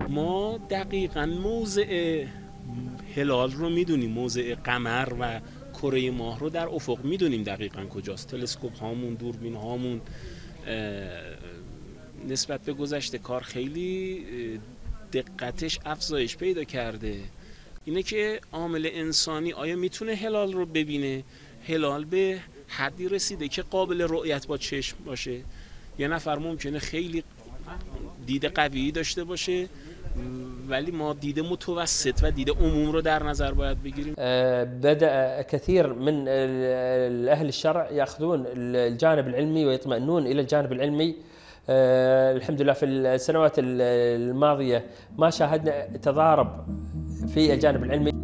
ما دقیقاً موضع هلال رو میدونیم، موضع قمر و کره ماه رو در افق میدونیم دقیقاً کجاست. تلسکوپ هامون، دوربین هامون نسبت به گذشته کار خیلی دقتش افزایش پیدا کرده. اینه که عامل انسانی آیا میتونه هلال رو ببینه؟ هلال به حدی رسیده که قابل رؤیت با چشم باشه. یه نفر ممکنه خیلی دید قوی داشته باشه ولی ما دید متوسط و دید عموم رو در نظر باید بگیریم. بدأ كثير من أهل الشرع يأخذون الجانب العلمي ويطمئنون إلى الجانب العلمي. الحمد لله في السنوات الماضية ما شاهدنا تضارب في الجانب العلمي.